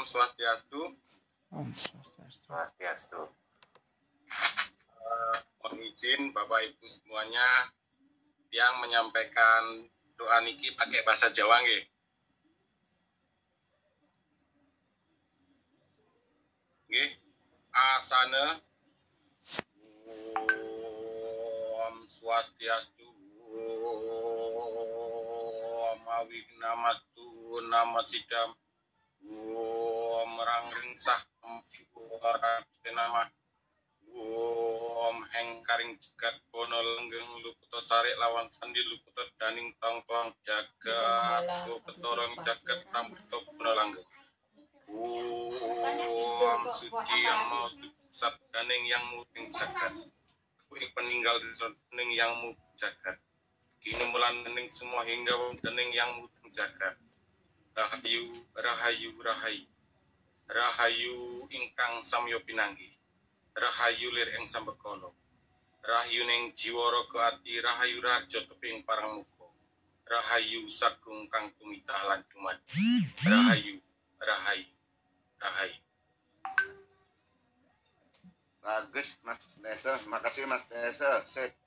Swastiastu. Om Swastiastu. Swastiastu. Mohon izin Bapak Ibu semuanya yang menyampaikan doa niki pakai bahasa Jawa nggih. Nggih. Asana Om Swastiastu. Om Awignamastu Namasidam. Om Ranglingsah Om Siwara Nama. Om Hengkaring Jagat Bono Lenggeng Luputo Sarik Lawan Sandi Luputo Daning Tong Tong Jagat Luputorong Jagat Rambuto Bono Langgeng. Om Suci yang mau sat daning yang muting jagat. Kuing peninggal dening yang muting jagat. Kini mulan dening semua hingga dening yang muting jagat. Rahayu, rahayu, rahayu. Rahayu ingkang samyo pinanggi. Rahayu lir ing sambekana. Rahayu ning jiwa raga ati, rahayu raja teping parang muka. Rahayu sagung kang tumitah lan dumadi. Rahayu, rahayu, rahayu. Bagus Mas Desa, makasih Mas Desa. Sip.